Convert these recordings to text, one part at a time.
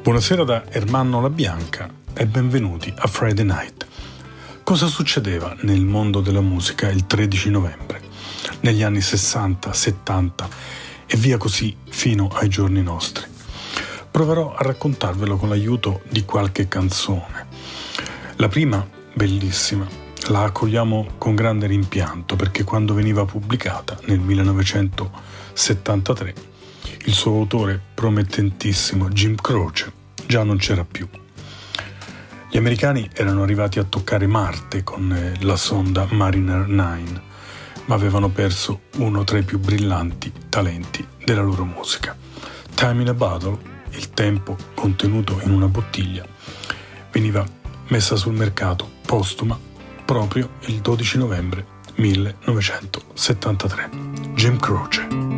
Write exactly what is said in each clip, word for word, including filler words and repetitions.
Buonasera da Ermanno La Bianca e benvenuti a Friday Night. Cosa succedeva nel mondo della musica il tredici novembre, negli anni sessanta, settanta e via così fino ai giorni nostri? Proverò a raccontarvelo con l'aiuto di qualche canzone. La prima, bellissima, la accogliamo con grande rimpianto perché quando veniva pubblicata nel millenovecentosettantatré il suo autore promettentissimo Jim Croce già non c'era più. Gli americani erano arrivati a toccare Marte con la sonda Mariner nove, ma avevano perso uno tra i più brillanti talenti della loro musica. Time in a Bottle, il tempo contenuto in una bottiglia, veniva messa sul mercato postuma proprio il dodici novembre millenovecentosettantatré. Jim Croce.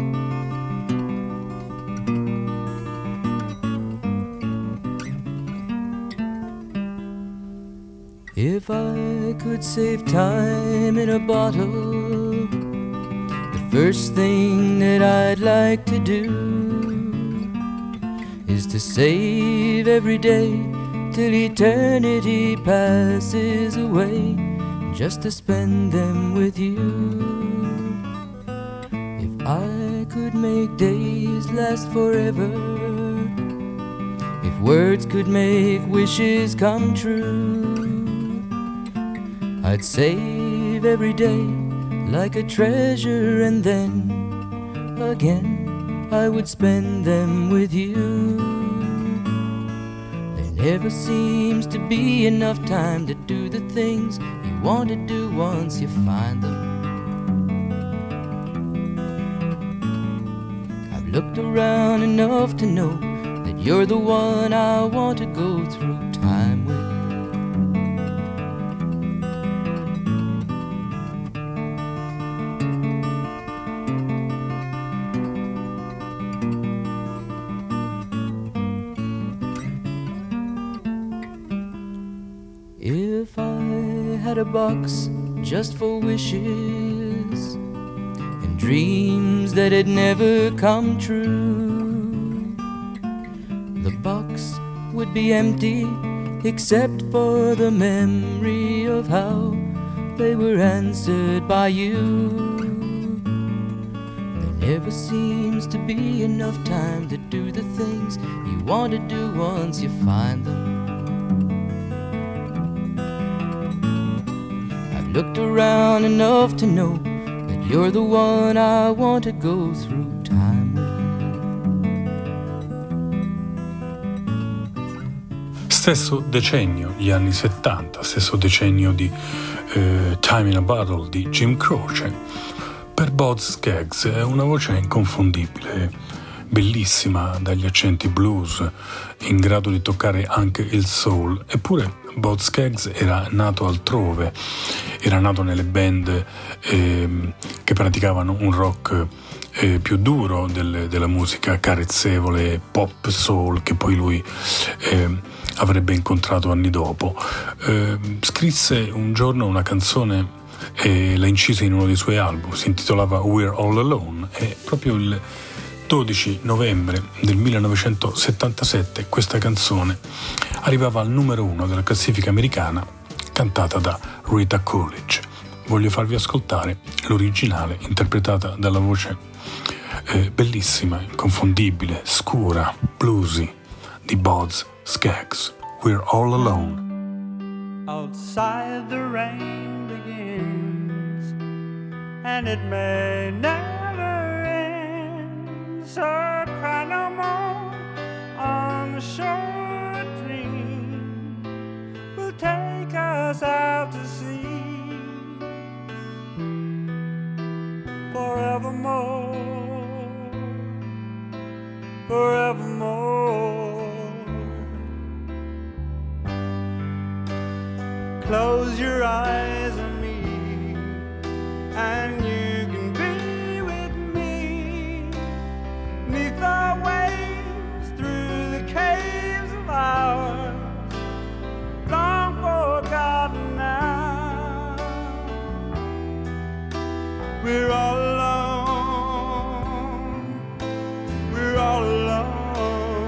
If I could save time in a bottle, the first thing that I'd like to do is to save every day till eternity passes away, just to spend them with you. If I could make days last forever, if words could make wishes come true, I'd save every day like a treasure, and then again I would spend them with you. There never seems to be enough time to do the things you want to do once you find them. I've looked around enough to know that you're the one I want to go through time with. If I had a box just for wishes and dreams that had never come true, the box would be empty except for the memory of how they were answered by you. There never seems to be enough time to do the things you want to do once you find them. Looked around enough to know that you're the one I want to go through time with. Stesso decennio, gli anni settanta, stesso decennio di eh, Time in a Bottle di Jim Croce. Per Boz Scaggs è una voce inconfondibile, bellissima dagli accenti blues, in grado di toccare anche il soul, eppure Boz Scaggs era nato altrove, era nato nelle band eh, che praticavano un rock eh, più duro del, della musica carezzevole, pop soul, che poi lui eh, avrebbe incontrato anni dopo. Eh, scrisse un giorno una canzone e la incise in uno dei suoi album, si intitolava We're All Alone, e proprio il dodici novembre del millenovecentosettantasette questa canzone arrivava al numero uno della classifica americana, cantata da Rita Coolidge. Voglio farvi ascoltare l'originale interpretata dalla voce eh, bellissima, inconfondibile, scura, bluesy di Boz Scaggs. We're All Alone. Outside the rain begins and it may never end, so cry no more on the shore. Dream will take us out to sea forevermore, forevermore. Close your eyes on me and you can be with me 'neath the waves, through the caves of ours, long forgotten now. We're all alone, we're all alone.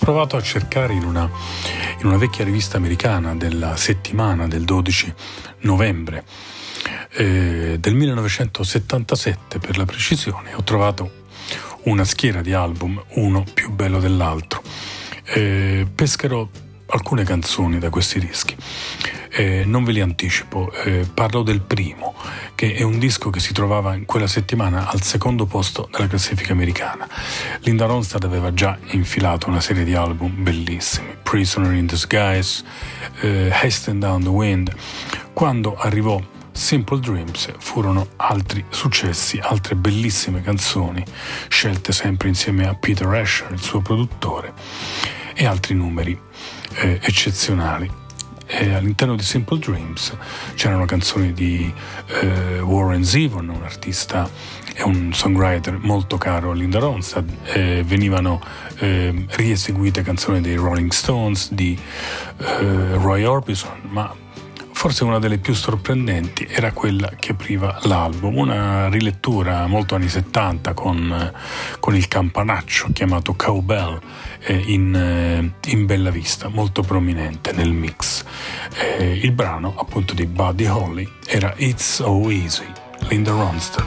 provato a cercare in una, in una vecchia rivista americana della settimana del dodici novembre eh, del millenovecentosettantasette per la precisione. Ho trovato una schiera di album, uno più bello dell'altro. Eh, pescherò alcune canzoni da questi dischi. Eh, non ve li anticipo, eh, parlo del primo, che è un disco che si trovava in quella settimana al secondo posto della classifica americana. Linda Ronstadt aveva già infilato una serie di album bellissimi, Prisoner in Disguise, eh, Hasten Down the Wind. Quando arrivò Simple Dreams furono altri successi, altre bellissime canzoni, scelte sempre insieme a Peter Asher, il suo produttore, e altri numeri eh, eccezionali. E all'interno di Simple Dreams c'erano canzoni di eh, Warren Zevon, un artista e un songwriter molto caro a Linda Ronstadt. Eh, venivano eh, rieseguite canzoni dei Rolling Stones, di eh, Roy Orbison, ma forse una delle più sorprendenti era quella che apriva l'album, una rilettura molto anni settanta con, con il campanaccio chiamato Cowbell eh, in, eh, in bella vista, molto prominente nel mix. Eh, il brano appunto di Buddy Holly era It's So Easy, Linda Ronstadt.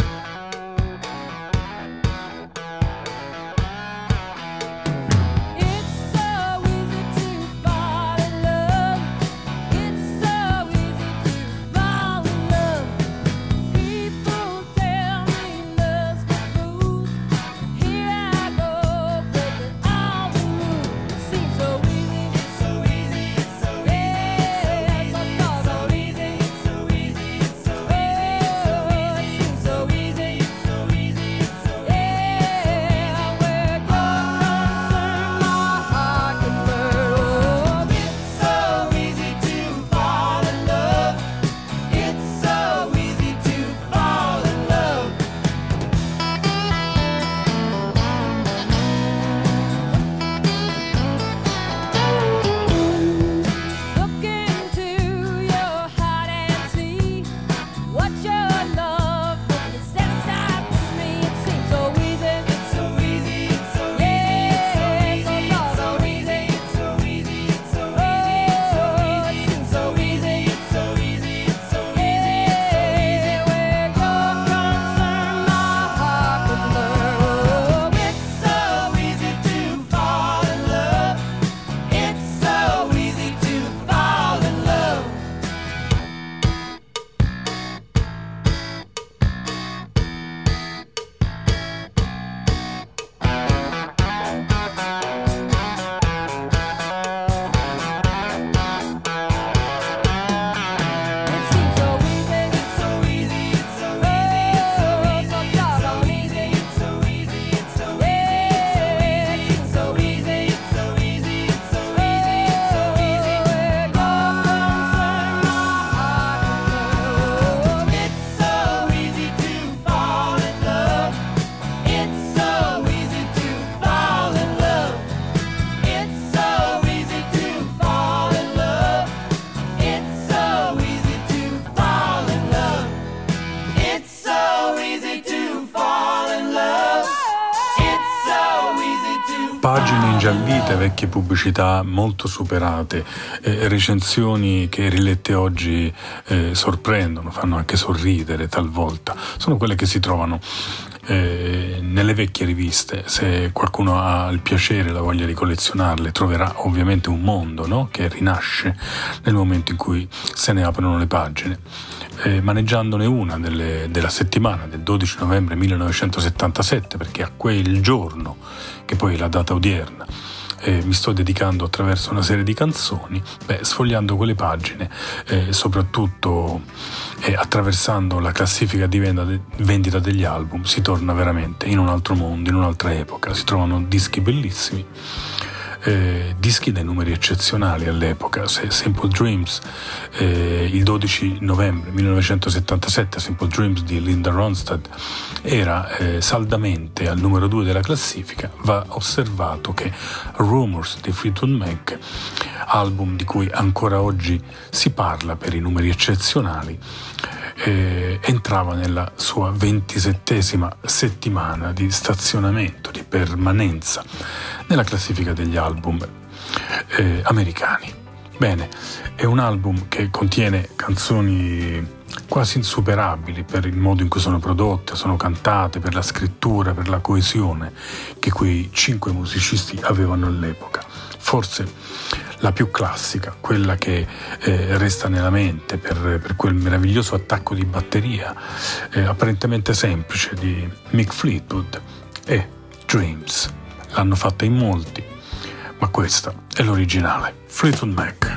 Pagine ingiallite, vecchie pubblicità molto superate, eh, recensioni che rilette oggi eh, sorprendono, fanno anche sorridere talvolta. Sono quelle che si trovano eh, nelle vecchie riviste. Se qualcuno ha il piacere, la voglia di collezionarle, troverà ovviamente un mondo, no? Che rinasce nel momento in cui se ne aprono le pagine. Eh, maneggiandone una delle, della settimana del dodici novembre millenovecentosettantasette, perché a quel giorno, che poi è la data odierna, eh, mi sto dedicando attraverso una serie di canzoni, beh, sfogliando quelle pagine, eh, soprattutto eh, attraversando la classifica di vendita, de, vendita degli album, si torna veramente in un altro mondo, in un'altra epoca. Si trovano dischi bellissimi, Eh, dischi dai numeri eccezionali all'epoca. Se Simple Dreams, eh, il dodici novembre millenovecentosettantasette, Simple Dreams di Linda Ronstadt era eh, saldamente al numero due della classifica, va osservato che Rumors di Fleetwood Mac, album di cui ancora oggi si parla per i numeri eccezionali, eh, entrava nella sua ventisettesima settimana di stazionamento, di permanenza nella classifica degli album eh, americani. Bene, è un album che contiene canzoni quasi insuperabili per il modo in cui sono prodotte, sono cantate, per la scrittura, per la coesione che quei cinque musicisti avevano all'epoca. Forse la più classica, quella che eh, resta nella mente per, per quel meraviglioso attacco di batteria eh, apparentemente semplice di Mick Fleetwood, è Dreams. L'hanno fatta in molti, ma questa è l'originale, Fleetwood Mac.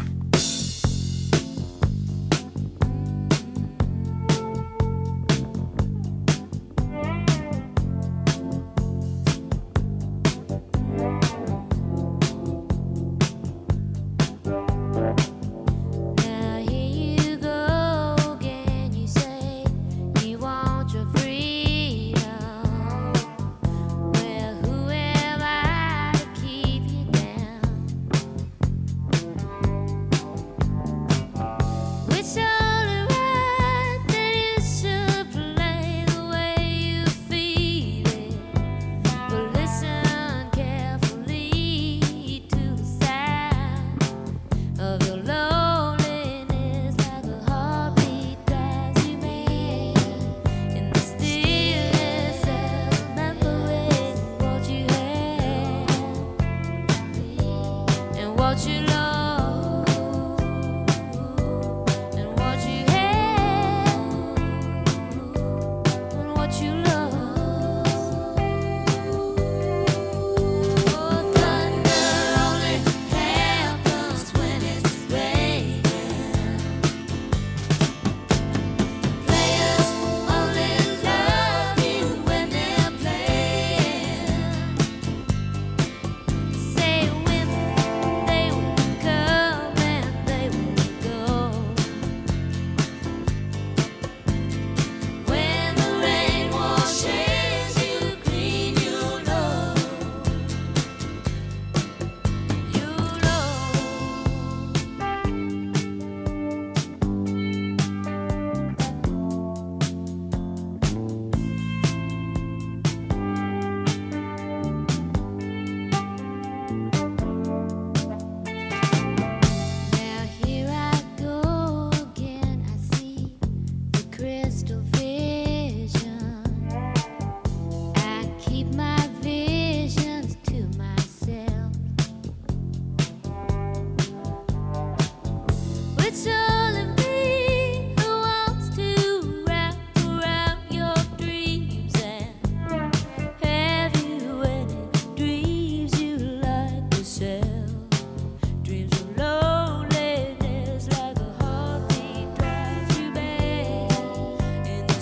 In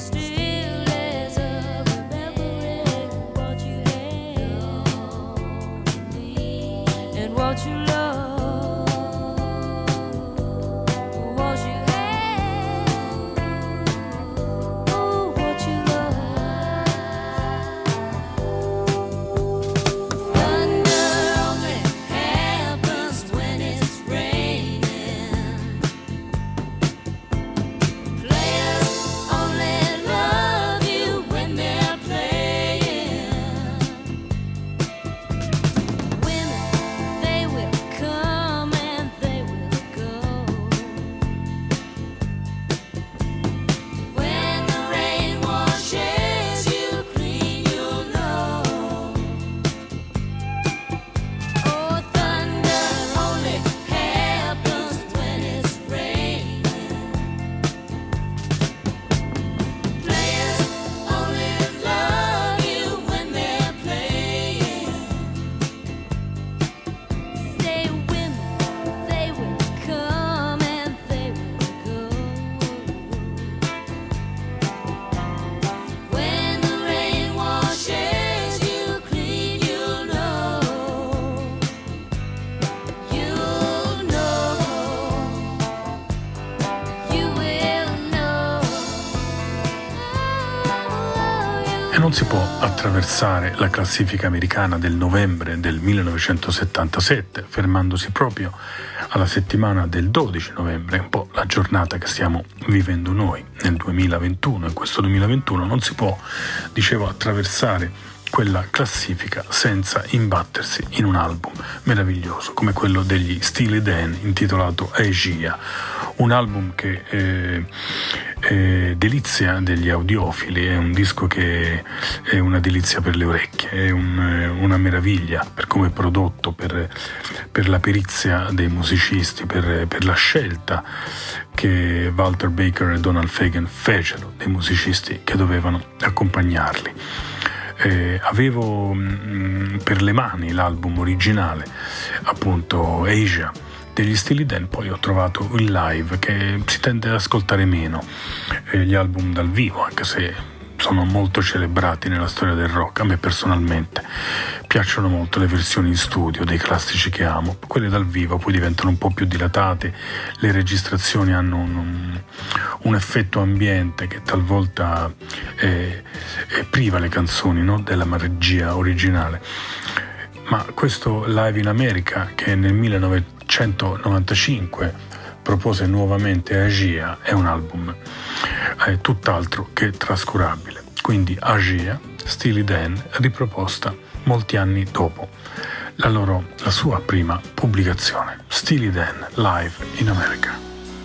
E non si può attraversare la classifica americana del novembre del millenovecentosettantasette, fermandosi proprio alla settimana del dodici novembre, un po' la giornata che stiamo vivendo noi nel duemilaventuno. In questo duemilaventuno non si può, dicevo, attraversare quella classifica senza imbattersi in un album meraviglioso come quello degli Steely Dan intitolato Asia, un album che eh, è delizia degli audiofili, è un disco che è una delizia per le orecchie, è un, una meraviglia per come è prodotto, per, per la perizia dei musicisti, per, per la scelta che Walter Baker e Donald Fagen fecero dei musicisti che dovevano accompagnarli. Eh, avevo mh, per le mani l'album originale, appunto Asia degli Steely Dan, poi ho trovato il live che si tende ad ascoltare meno, eh, gli album dal vivo, anche se sono molto celebrati nella storia del rock. A me personalmente piacciono molto le versioni in studio dei classici che amo, quelle dal vivo poi diventano un po' più dilatate, le registrazioni hanno un, un, un effetto ambiente che talvolta è, è priva le canzoni, no? della regia originale. Ma questo Live in America, che nel millenovecentonovantacinque propose nuovamente Asia, è un album eh, tutt'altro che trascurabile. Quindi Asia, Steely Dan, riproposta molti anni dopo la, loro, la sua prima pubblicazione. Steely Dan, Live in America.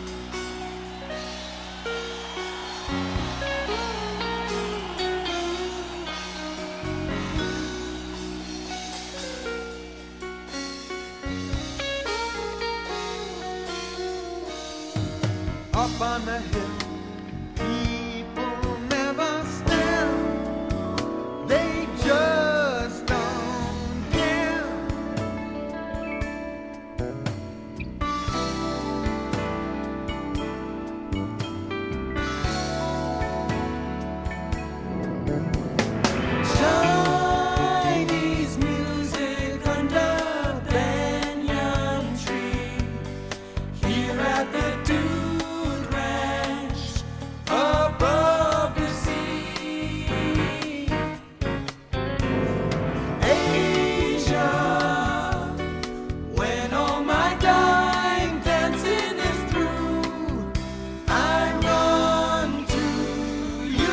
Up on the hill, people never stand. They just don't care. Chinese music under banyan tree, here at the Dude Ranch above the sea. Asia, when all my dying dancing is through, I run to you.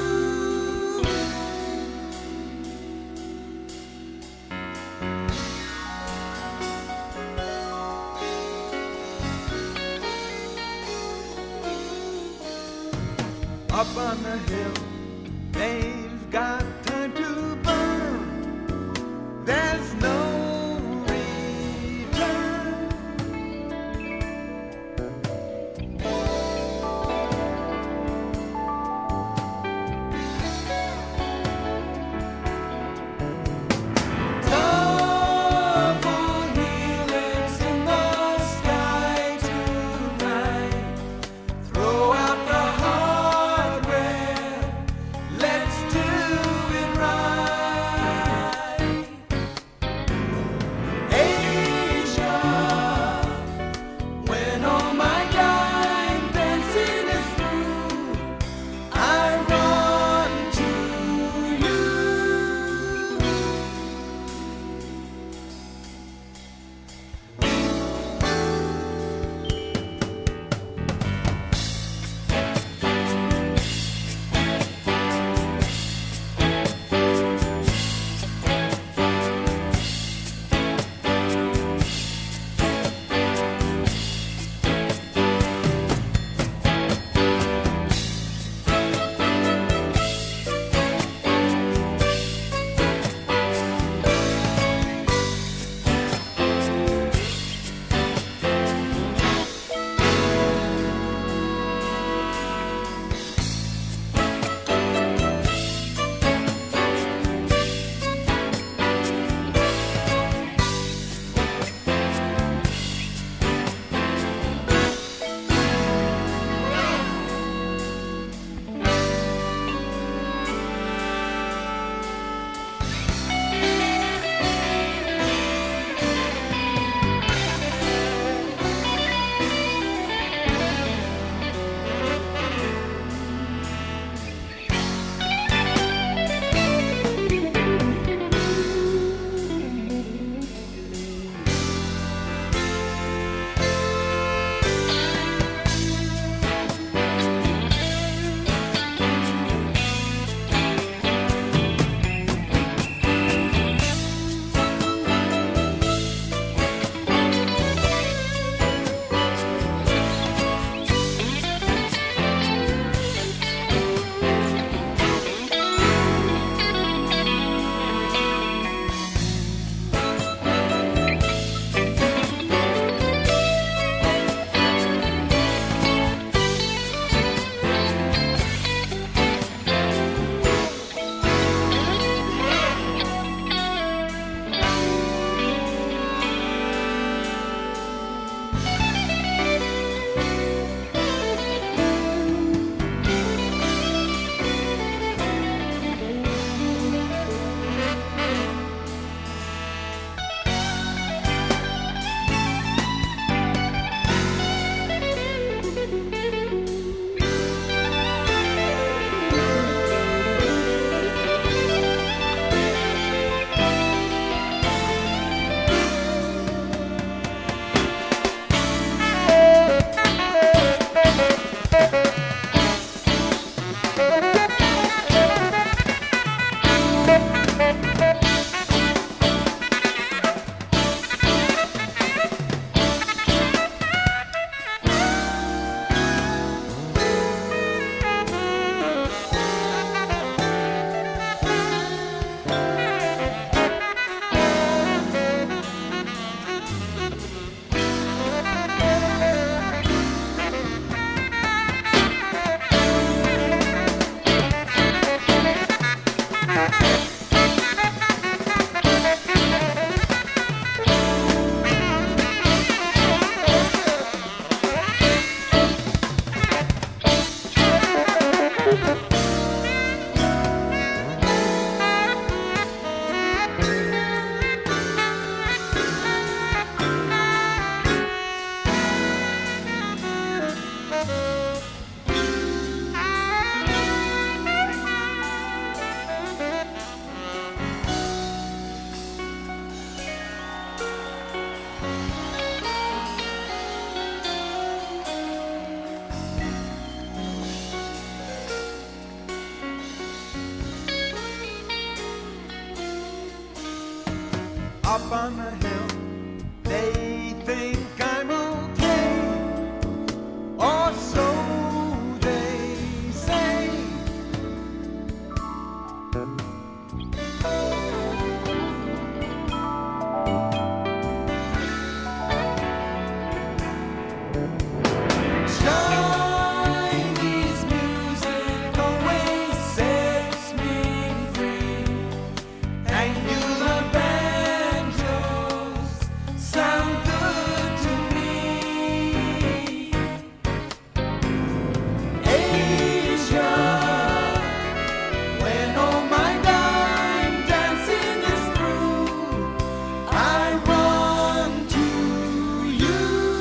Up on the hill, they've got time to burn. There's no return. Double helix in the sky tonight. Throw out the hardware. Let's Up on the hill, they think I'm okay, or so they say. Chinese music always sets me free, and you love banjos sound good to me. Asia, when all my dime dancing is through, I run to you.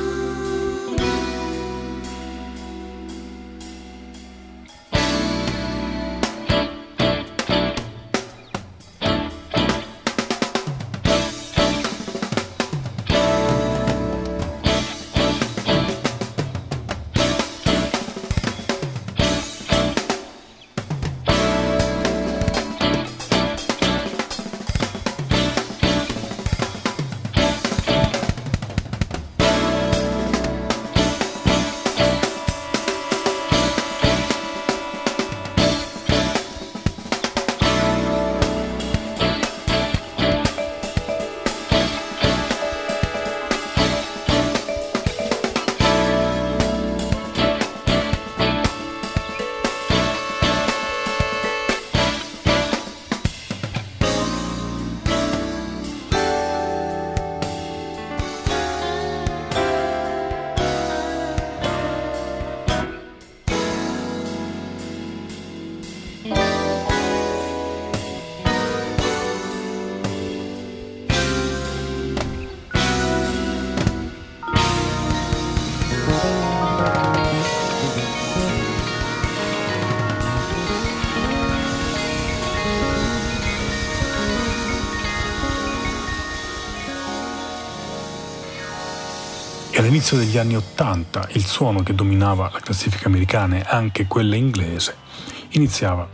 E all'inizio degli anni Ottanta il suono che dominava la classifica americana e anche quella inglese iniziava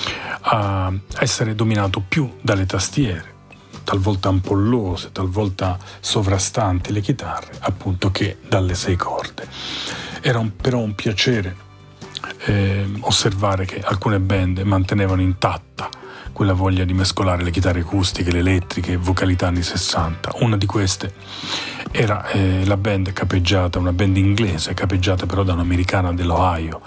a essere dominato più dalle tastiere, talvolta ampollose, talvolta sovrastanti le chitarre, appunto, che dalle sei corde. Era un, però un piacere eh, osservare che alcune band mantenevano intatta quella voglia di mescolare le chitarre acustiche, le elettriche, vocalità anni sessanta. Una di queste era eh, la band capeggiata, una band inglese capeggiata però da un'americana dell'Ohio,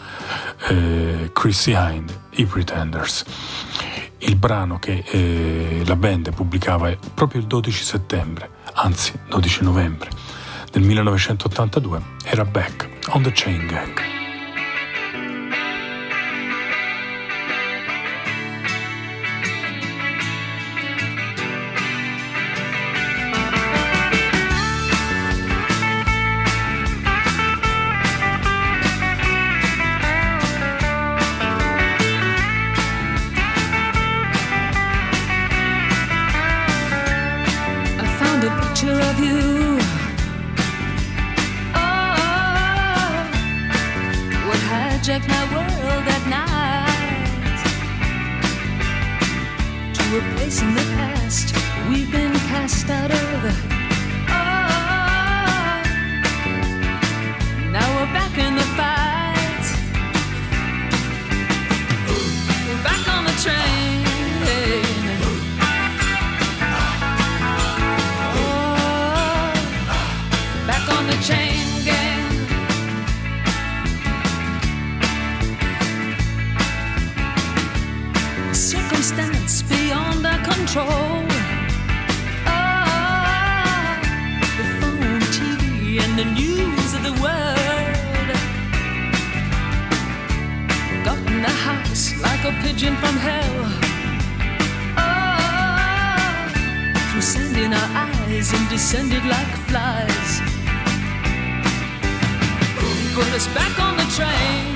eh, Chrissie Hynde, i Pretenders. Il brano che eh, la band pubblicava proprio il dodici settembre, anzi dodici novembre del millenovecentottantadue, era Back on the Chain Gang. My world at night to a place in the past we've been cast out of. Oh, now we're back in the fight. We're back on the train. Oh, back on the chain gang. Circumstance beyond our control. Ah, the phone, T V, and the news of the world got in the house rose and descended like flies. Put us back on the train.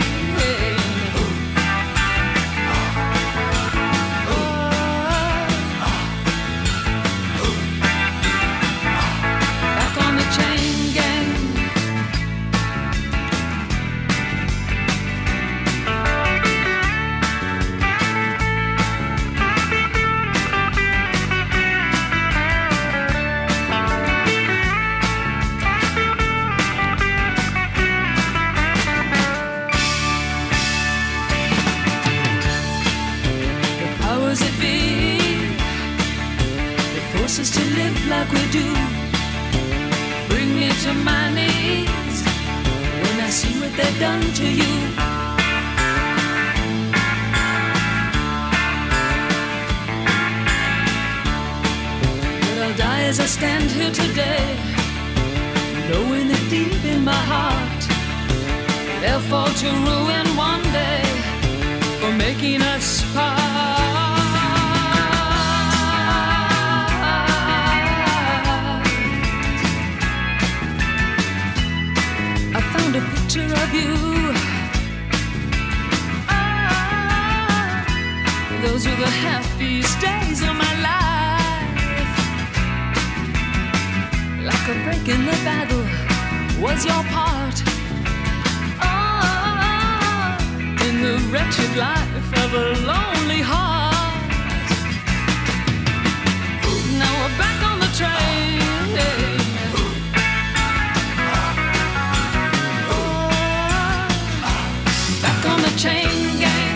Us to live like we do, bring me to my knees when I see what they've done to you. But I'll die as I stand here today, knowing that deep in my heart they'll fall to ruin one day for making us part. A picture of you. Ah, those were the happiest days of my life. Like a break in the battle was your part. Ah, in the wretched life of a lonely heart. Now we're back on the train. On the chain gang.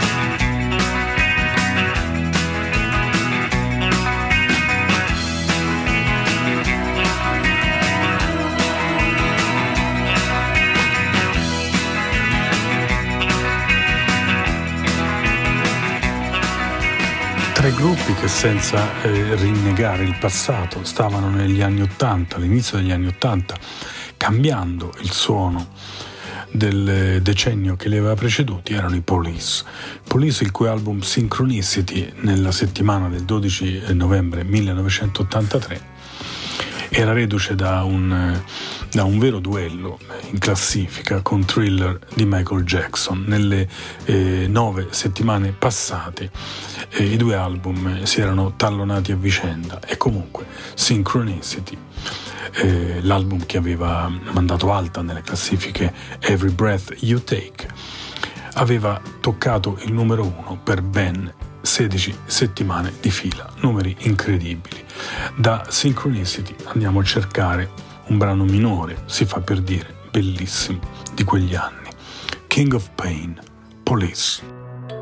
Tre gruppi che senza eh, rinnegare il passato stavano negli anni Ottanta, all'inizio degli anni Ottanta, cambiando il suono del decennio che li aveva preceduti, erano i Police. Police, il cui album Synchronicity nella settimana del dodici novembre millenovecentottantatré era reduce da un, da un vero duello in classifica con Thriller di Michael Jackson. Nelle eh, nove settimane passate eh, i due album si erano tallonati a vicenda e comunque Synchronicity, Eh, l'album che aveva mandato alta nelle classifiche Every Breath You Take, aveva toccato il numero uno per ben sedici settimane di fila, numeri incredibili. Da Synchronicity andiamo a cercare un brano minore, si fa per dire, bellissimo, di quegli anni, King of Pain, Police.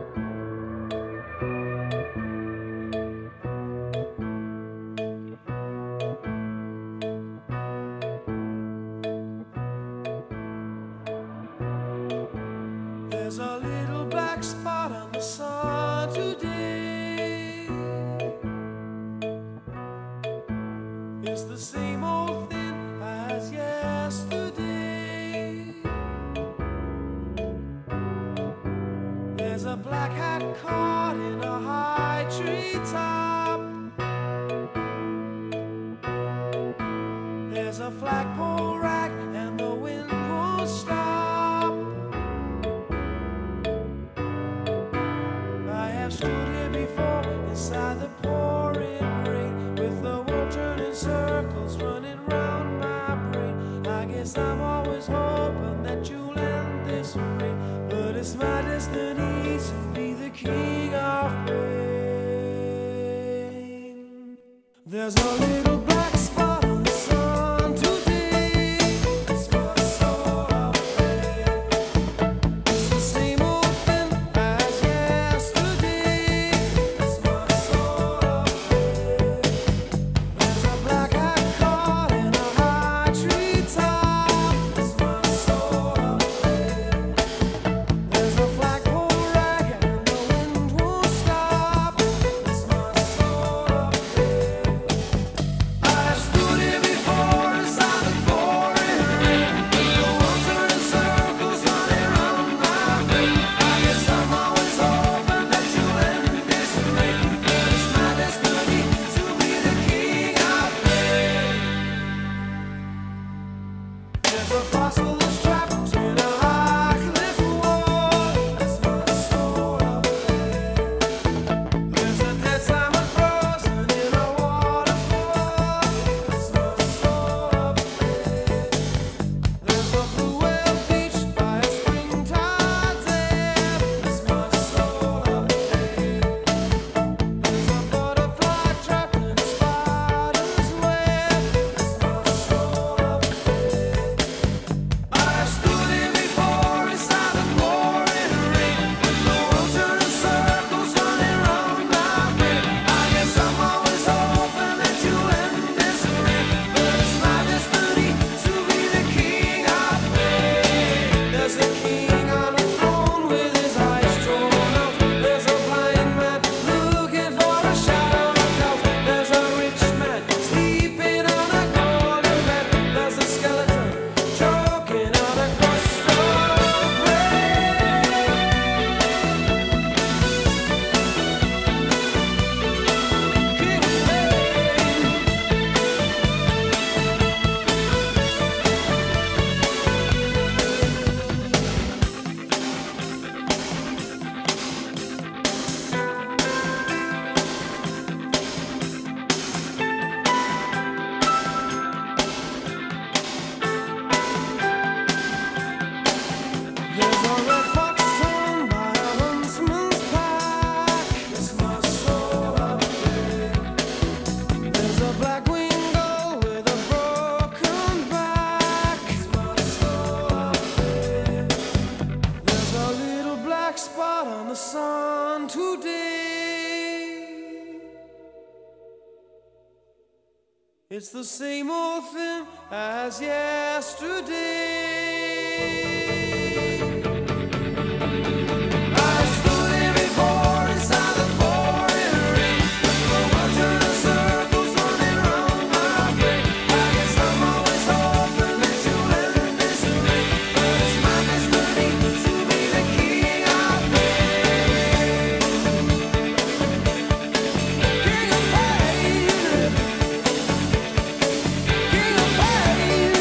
There's a little black spot on the sun today. It's my sort of pain. It's the same old thing as yesterday. It's my sort of pain. There's a black hat caught in a high tree top. It's my sort of pain. There's a flagpole rag and the wind won't stop. It's my sort of pain. sun today. It's the same old thing as yesterday. I stood here before inside the pouring rain. The world turned in circles running round my brain. I guess I'm always hoping that you'll end this way, but it's my destiny to be the king of pain. King of pain. King of pain.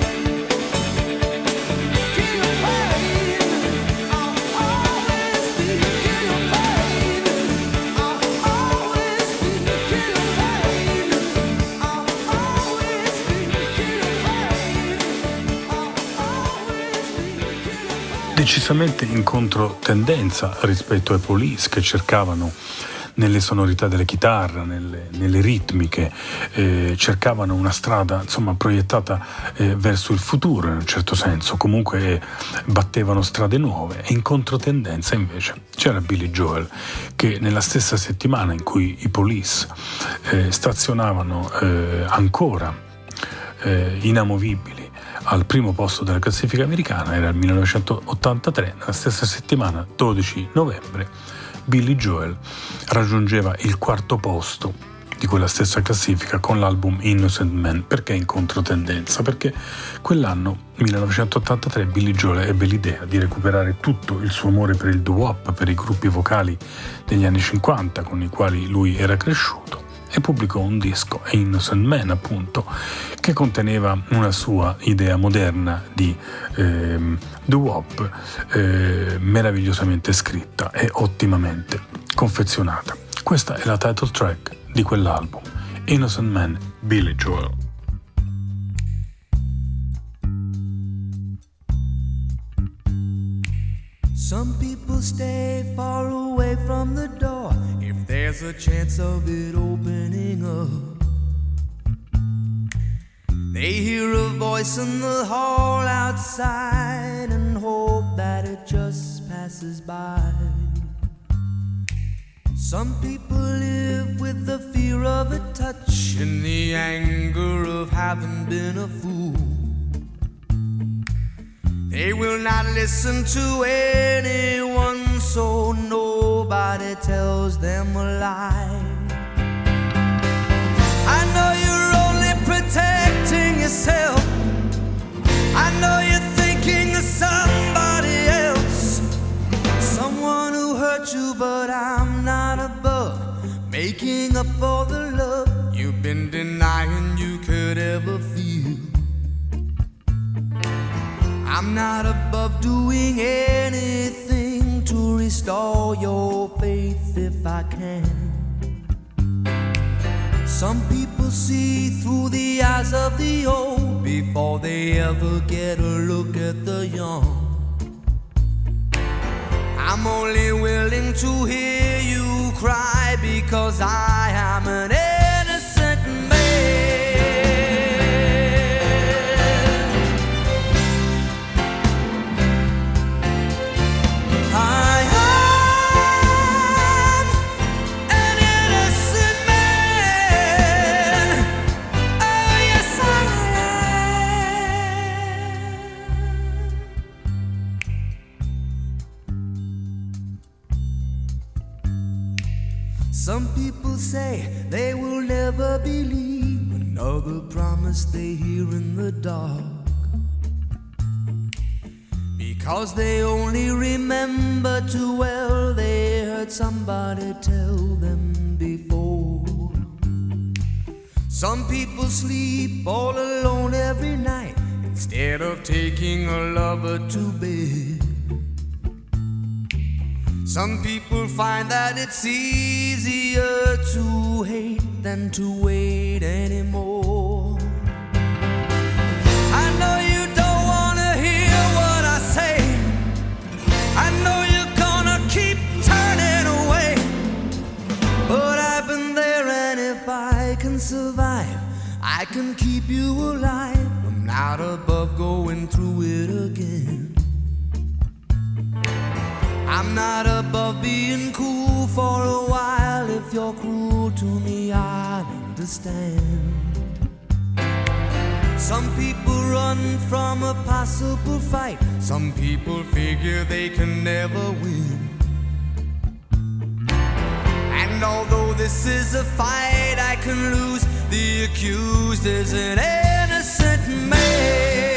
King of pain. I'll always be king of pain. I'll always be king of pain. I'll always be king of pain. I'll always be king of pain. Decisamente in controtendenza rispetto ai Police, che cercavano nelle sonorità delle chitarre, nelle, nelle ritmiche, eh, cercavano una strada insomma proiettata eh, verso il futuro in un certo senso, comunque eh, battevano strade nuove. E in controtendenza invece c'era Billy Joel, che nella stessa settimana in cui i Police eh, stazionavano eh, ancora eh, inamovibili al primo posto della classifica americana, era il millenovecentottantatré, nella stessa settimana, dodici novembre, Billy Joel raggiungeva il quarto posto di quella stessa classifica con l'album Innocent Man. Perché in controtendenza? Perché quell'anno, millenovecentottantatré, Billy Joel ebbe l'idea di recuperare tutto il suo amore per il doo-wop, per i gruppi vocali degli anni cinquanta con i quali lui era cresciuto, e pubblicò un disco, Innocent Man appunto, che conteneva una sua idea moderna di ehm, doo-wop, eh, meravigliosamente scritta e ottimamente confezionata. Questa è la title track di quell'album, Innocent Man, Billy Joel. Some people stay far away from the door if there's a chance of it opening up. They hear a voice in the hall outside and hope that it just passes by. Some people live with the fear of a touch and the anger of having been a fool. They will not listen to anyone, so nobody tells them a lie. I know you're only protecting yourself. I know you're thinking of somebody else, someone who hurt you, but I'm not above making up for the love you've been denying you could ever feel. I'm not above doing anything to restore your faith if I can. Some people see through the eyes of the old before they ever get a look at the young. I'm only willing to hear you cry because I am an innocent man. I am an innocent man. Oh, yes, I am. Some people say they will never believe another promise they hear in the dark, because they only remember too well they heard somebody tell them before. Some people sleep all alone every night instead of taking a lover to bed. Some people find that it's easier to hate than to wait anymore. I know you don't wanna hear what I say. I know you're gonna keep turning away, but I've been there, and if I can survive, I can keep you alive. I'm not above going through it again. I'm not above being cool to me, I understand. Some people run from a possible fight. Some people figure they can never win. And although this is a fight I can lose, the accused is an innocent man.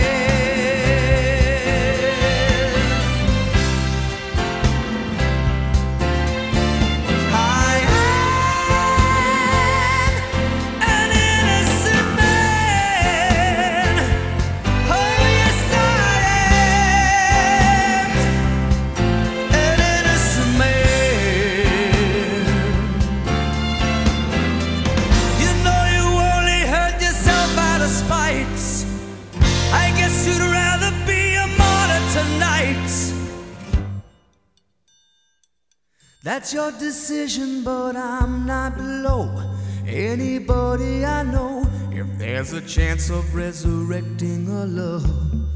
That's your decision, but I'm not below anybody I know. If there's a chance of resurrecting a love,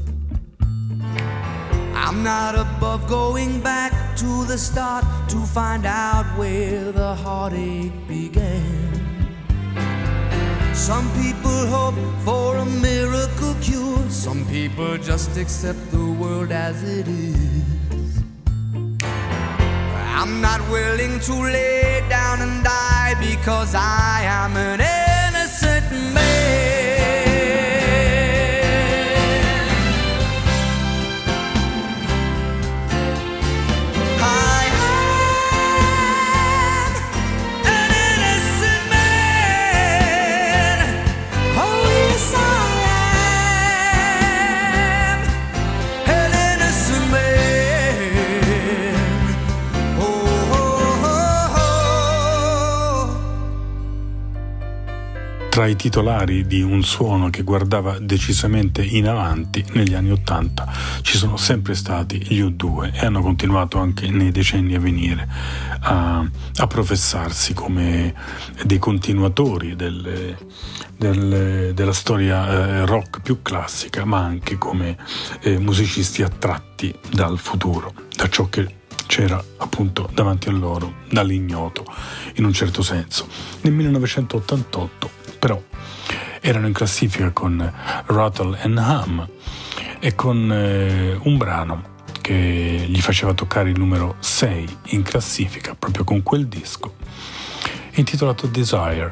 I'm not above going back to the start to find out where the heartache began. Some people hope for a miracle cure. Some people just accept the world as it is. I'm not willing to lay down and die because I am an innocent man. I am an innocent man. Oh yes, I am an innocent man. Tra i titolari di un suono che guardava decisamente in avanti negli anni Ottanta ci sono sempre stati gli U due e hanno continuato anche nei decenni a venire a, a professarsi come dei continuatori del, del, della storia eh, rock più classica, ma anche come eh, musicisti attratti dal futuro, da ciò che c'era appunto davanti a loro, dall'ignoto in un certo senso. Nel millenovecentottantotto però erano in classifica con Rattle and Hum e con eh, un brano che gli faceva toccare il numero sei in classifica proprio con quel disco, intitolato Desire,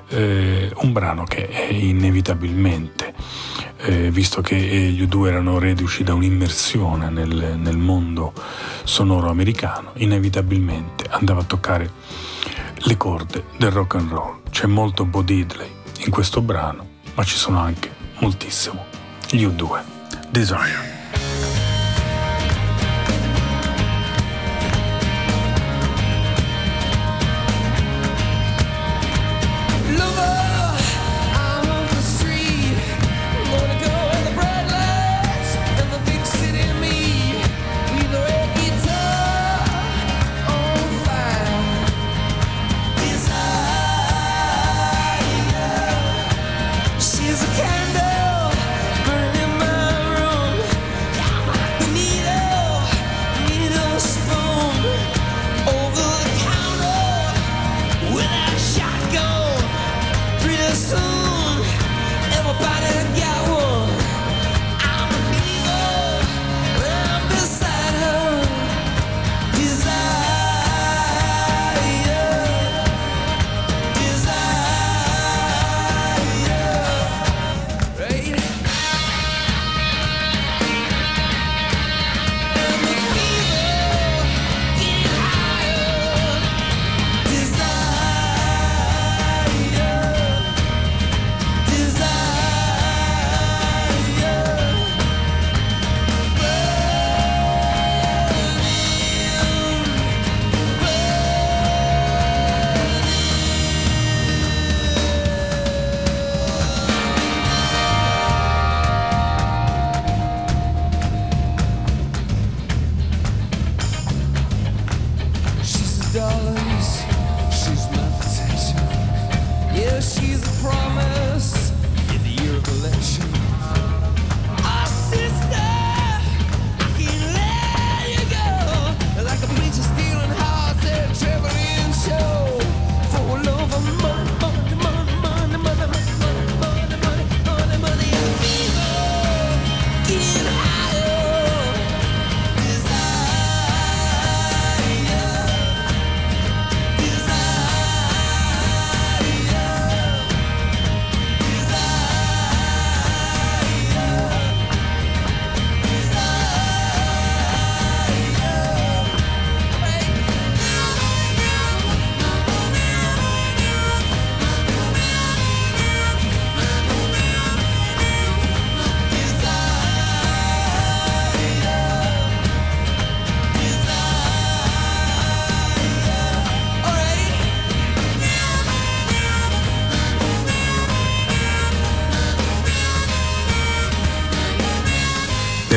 eh, un brano che è inevitabilmente, eh, visto che gli U due erano reduci da un'immersione nel, nel mondo sonoro americano, inevitabilmente andava a toccare le corde del rock and roll. C'è molto Bo Diddley in questo brano, ma ci sono anche moltissimo gli U due. Desire. Stealing hearts and traveling show for love of money.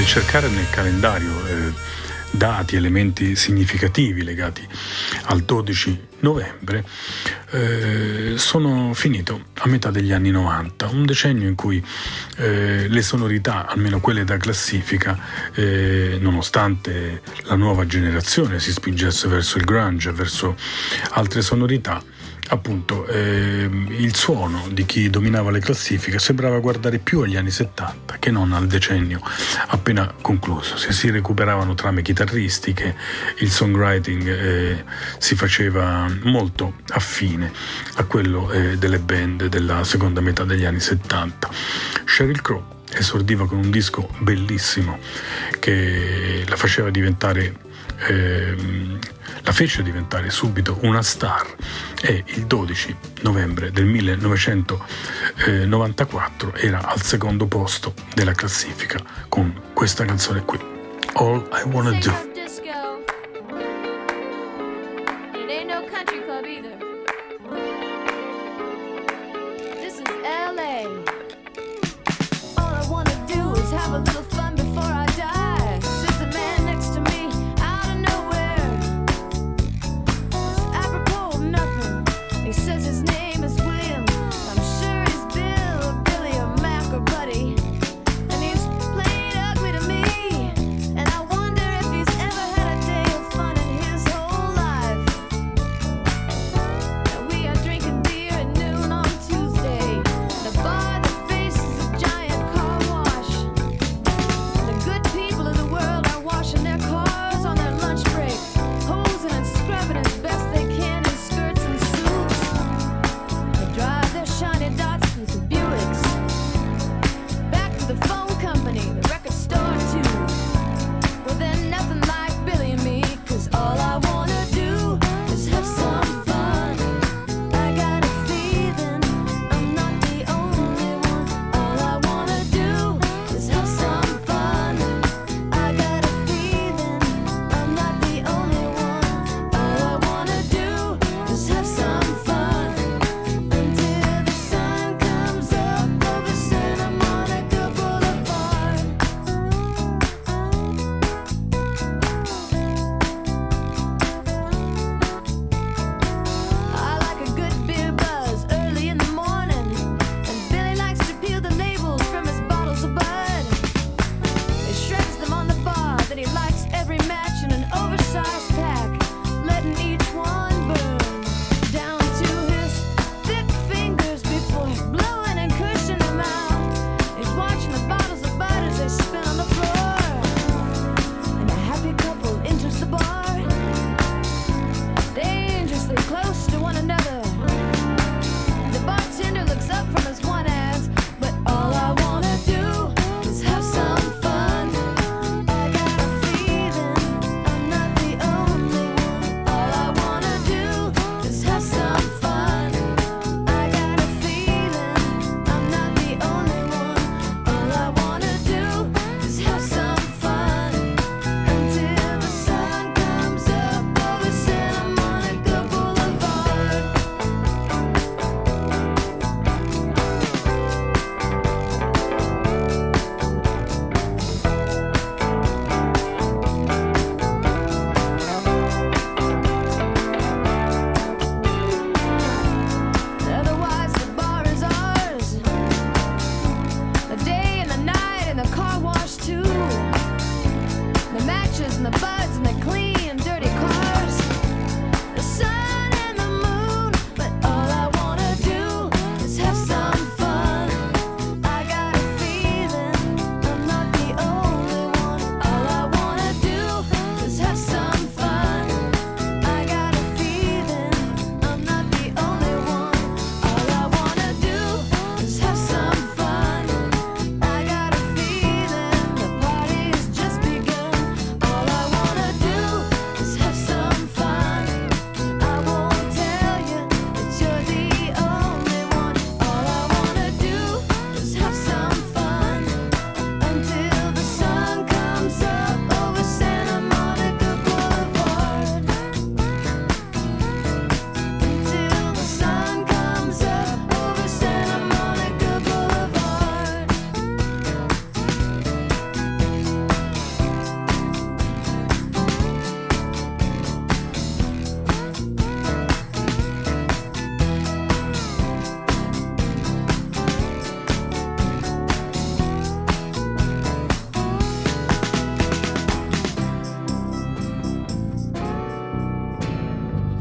cercare nel calendario eh, dati, elementi significativi legati al dodici novembre, eh, sono finito a metà degli anni novanta, un decennio in cui eh, le sonorità, almeno quelle da classifica, eh, nonostante la nuova generazione si spingesse verso il grunge, verso altre sonorità, appunto eh, il suono di chi dominava le classifiche sembrava guardare più agli anni settanta che non al decennio appena concluso. Se si recuperavano trame chitarristiche, il songwriting eh, si faceva molto affine a quello eh, delle band della seconda metà degli anni settanta. Sheryl Crow esordiva con un disco bellissimo che la faceva diventare eh, la fece diventare subito una star, e il dodici novembre del millenovecentonovantaquattro era al secondo posto della classifica con questa canzone qui, All I Wanna Do.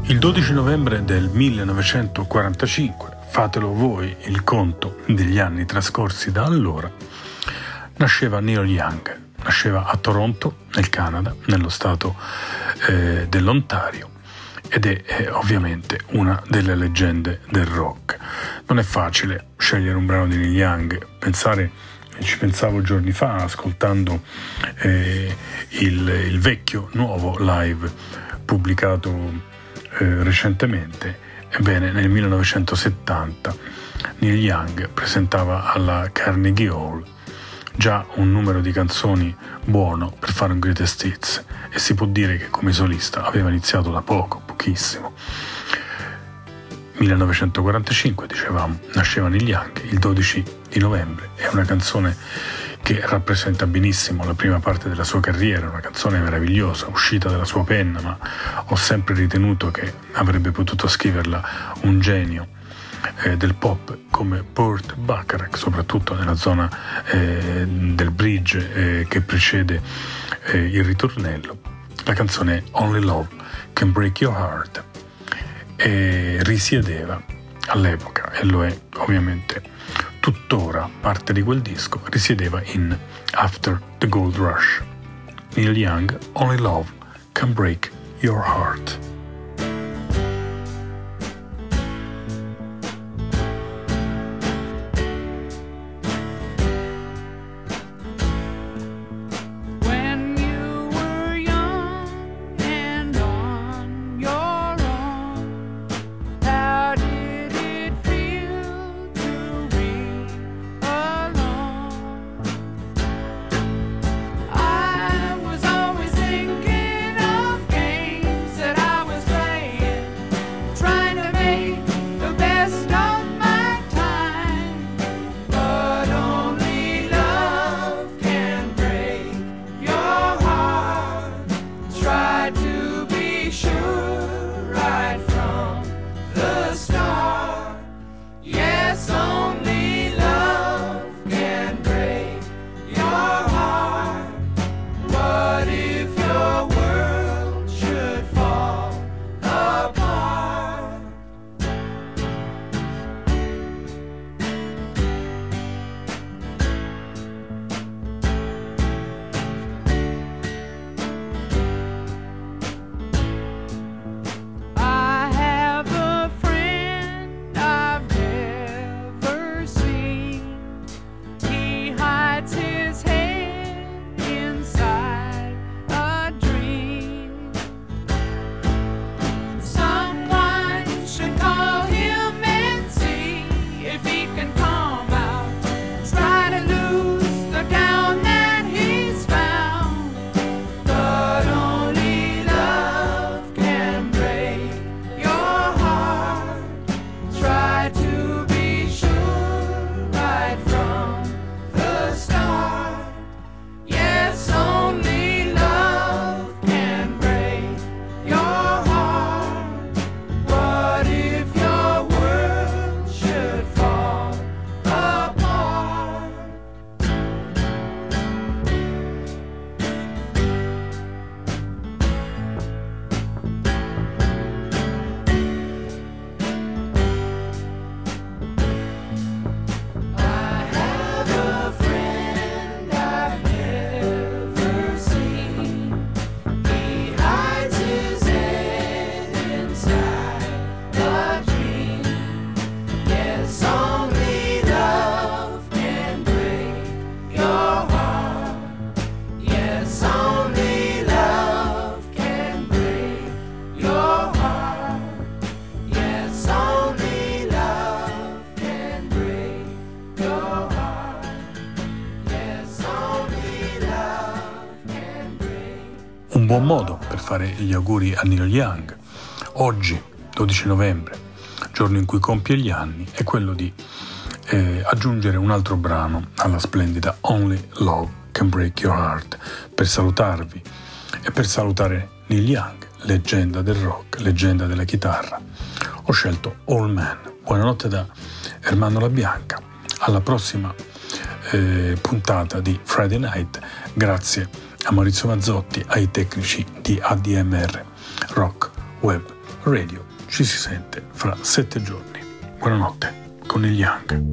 Il dodici novembre del millenovecentoquarantacinque, fatelo voi il conto degli anni trascorsi da allora, nasceva Neil Young. Nasceva a Toronto, nel Canada, nello stato eh, dell'Ontario, ed è, è ovviamente una delle leggende del rock. Non è facile scegliere un brano di Neil Young. Pensare, ci pensavo giorni fa ascoltando eh, il, il vecchio nuovo live pubblicato eh, recentemente. Ebbene, nel millenovecentosettanta Neil Young presentava alla Carnegie Hall già un numero di canzoni buono per fare un greatest hits, e si può dire che come solista aveva iniziato da poco, pochissimo. millenovecentoquarantacinque, dicevamo, nasceva Neil Young. Il dodici di novembre è una canzone che rappresenta benissimo la prima parte della sua carriera, una canzone meravigliosa, uscita dalla sua penna, ma ho sempre ritenuto che avrebbe potuto scriverla un genio eh, del pop come Burt Bacharach, soprattutto nella zona eh, del bridge eh, che precede eh, il ritornello. La canzone è Only Love Can Break Your Heart e risiedeva all'epoca, e lo è ovviamente tuttora parte di quel disco, risiedeva in After the Gold Rush. Neil Young, Only Love Can Break Your Heart. buon modo per fare gli auguri a Neil Young. Oggi, dodici novembre, giorno in cui compie gli anni, è quello di eh, aggiungere un altro brano alla splendida Only Love Can Break Your Heart per salutarvi e per salutare Neil Young, leggenda del rock, leggenda della chitarra. Ho scelto All Man. Buonanotte da Ermanno La Bianca. Alla prossima eh, puntata di Friday Night. Grazie a Maurizio Mazzotti, ai tecnici di A D M R Rock Web Radio ci si sente fra sette giorni. Buonanotte con il Young.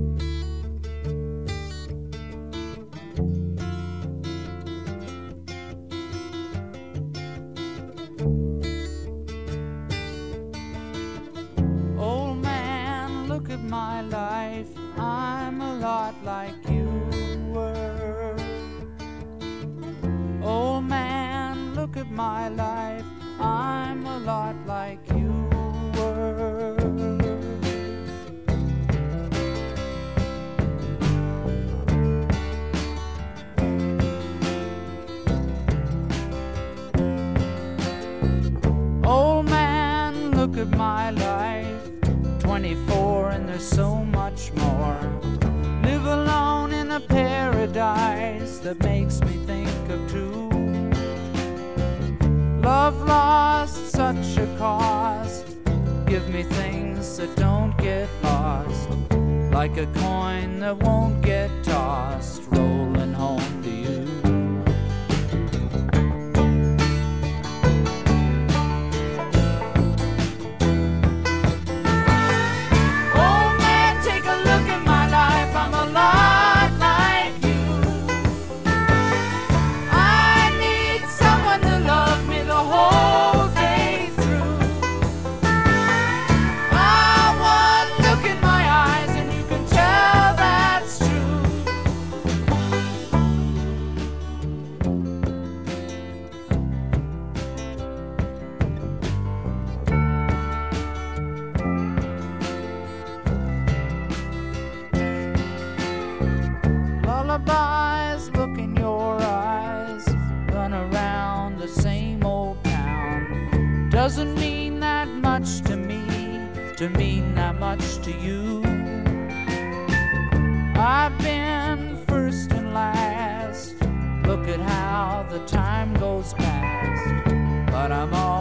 Old man, look at my life. I'm a lot like you were. Old man, look at my life. I'm a lot like you were. Old man, look at my life. twenty-four and there's so much more. Live alone in a paradise that makes me think of two. Love lost, such a cost. Give me things that don't get lost, like a coin that won't get tossed, rolling home to you. Old man, take a look at my life. I'm a lot like you. I need someone to love me the whole day through. I want look in my eyes and you can tell that's true. Lullabies, look in your eyes. Run around the same old town. Doesn't mean that much to me, to mean that much to you. I've been first and last. Look at how the time goes past. But I'm all